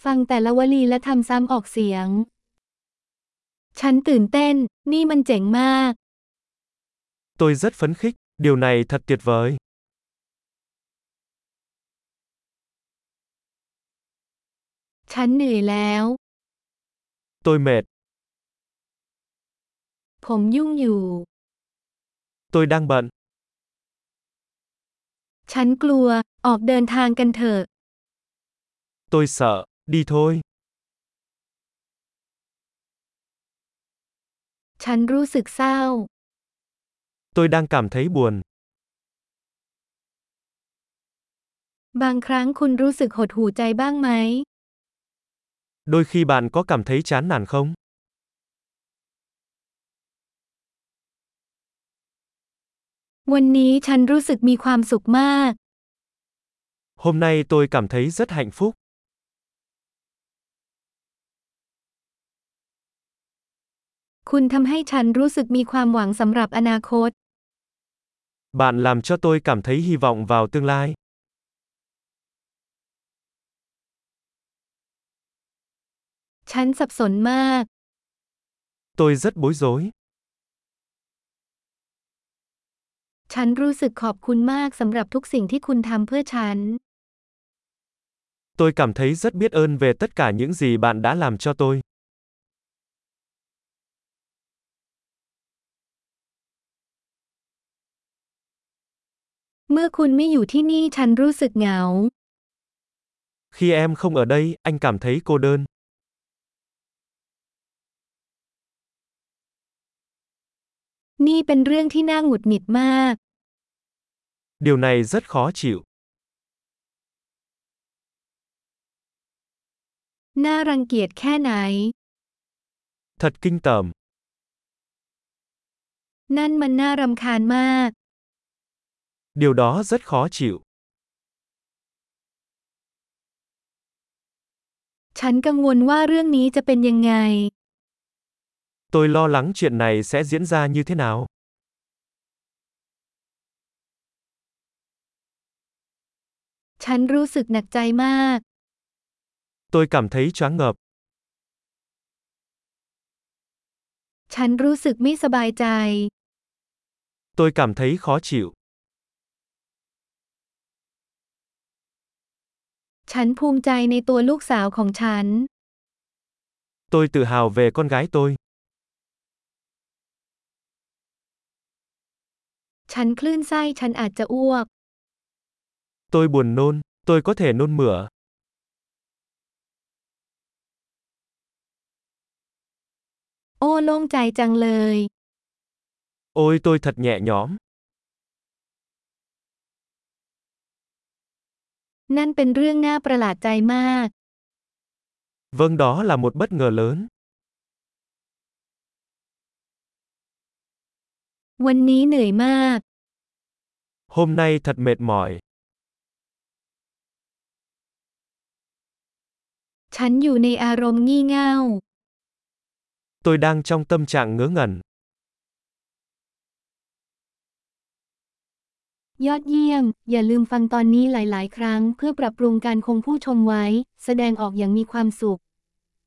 ฟังแต่ละวลีและทำซ้ำออกเสียง ฉันตื่นเต้น นี่มันเจ๋งมาก Tôi rất phấn khích, điều này thật tuyệt vời. ฉันเหนื่อยแล้ว Tôi mệt, ผมยุ่งอยู่ tôi đang bận. ฉันกลัว ออกเดินทางกันเถอะ Tôi sợ, đi thôi. ฉันรู้สึกเศร้า Tôi đang cảm thấy buồn. บางครั้งคุณรู้สึกหดหู่ใจบ้างไหม Đôi khi bạn có cảm thấy chán nản không? วันนี้ฉันรู้สึกมีความสุขมาก Hôm nay tôi cảm thấy rất hạnh phúc. คุณทำให้ฉันรู้สึกมีความหวังสำหรับอนาคต Bạn làm cho tôi cảm thấy hy vọng vào tương lai. ฉันสับสนมาก Tôi rất bối rối. ฉันรู้สึกขอบคุณมากสำหรับทุกสิ่งที่คุณทำเพื่อฉัน Tôi cảm thấy rất biết ơn về tất cả những gì bạn đã làm cho tôi. เมื่อคุณไม่อยู่ที่นี่ฉันรู้สึกเหงา Khi em không ở đây, anh cảm thấy cô đơn. นี่เป็นเรื่องที่น่าหงุดหงิดมาก Điều này rất khó chịu. น่ารังเกียจแค่ไหน Thật kinh tởm. นั่นมันน่ารำคาญมาก Điều đó rất khó chịu. ฉันกังวลว่าเรื่องนี้จะเป็นยังไง Tôi lo lắng chuyện này sẽ diễn ra như thế nào. ฉันรู้สึกหนักใจมาก Tôi cảm thấy choáng ngợp. ฉันรู้สึกไม่สบายใจ Tôi cảm thấy khó chịu. ฉันภูมิใจในตัวลูกสาวของฉัน Tôi tự hào về con gái tôi. ฉันคลื่นไส้ฉันอาจจะอ้วก Tôi buồn nôn, tôi có thể nôn mửa. โอ้โล่งใจจังเลย Ôi tôi thật nhẹ nhõm. นั่นเป็นเรื่องน่าประหลาดใจมาก Vâng, đó là một bất ngờ lớn. วันนี้เหนื่อยมาก Hôm nay thật mệt mỏi. ฉันอยู่ในอารมณ์งี่เง่า Tôi đang trong tâm trạng ngớ ngẩn. ยอดเยี่ยม อย่าลืมฟังตอนนี้หลาย ๆ ครั้งเพื่อปรับปรุงการคงผู้ชมไว้ แสดงออกอย่างมีความสุข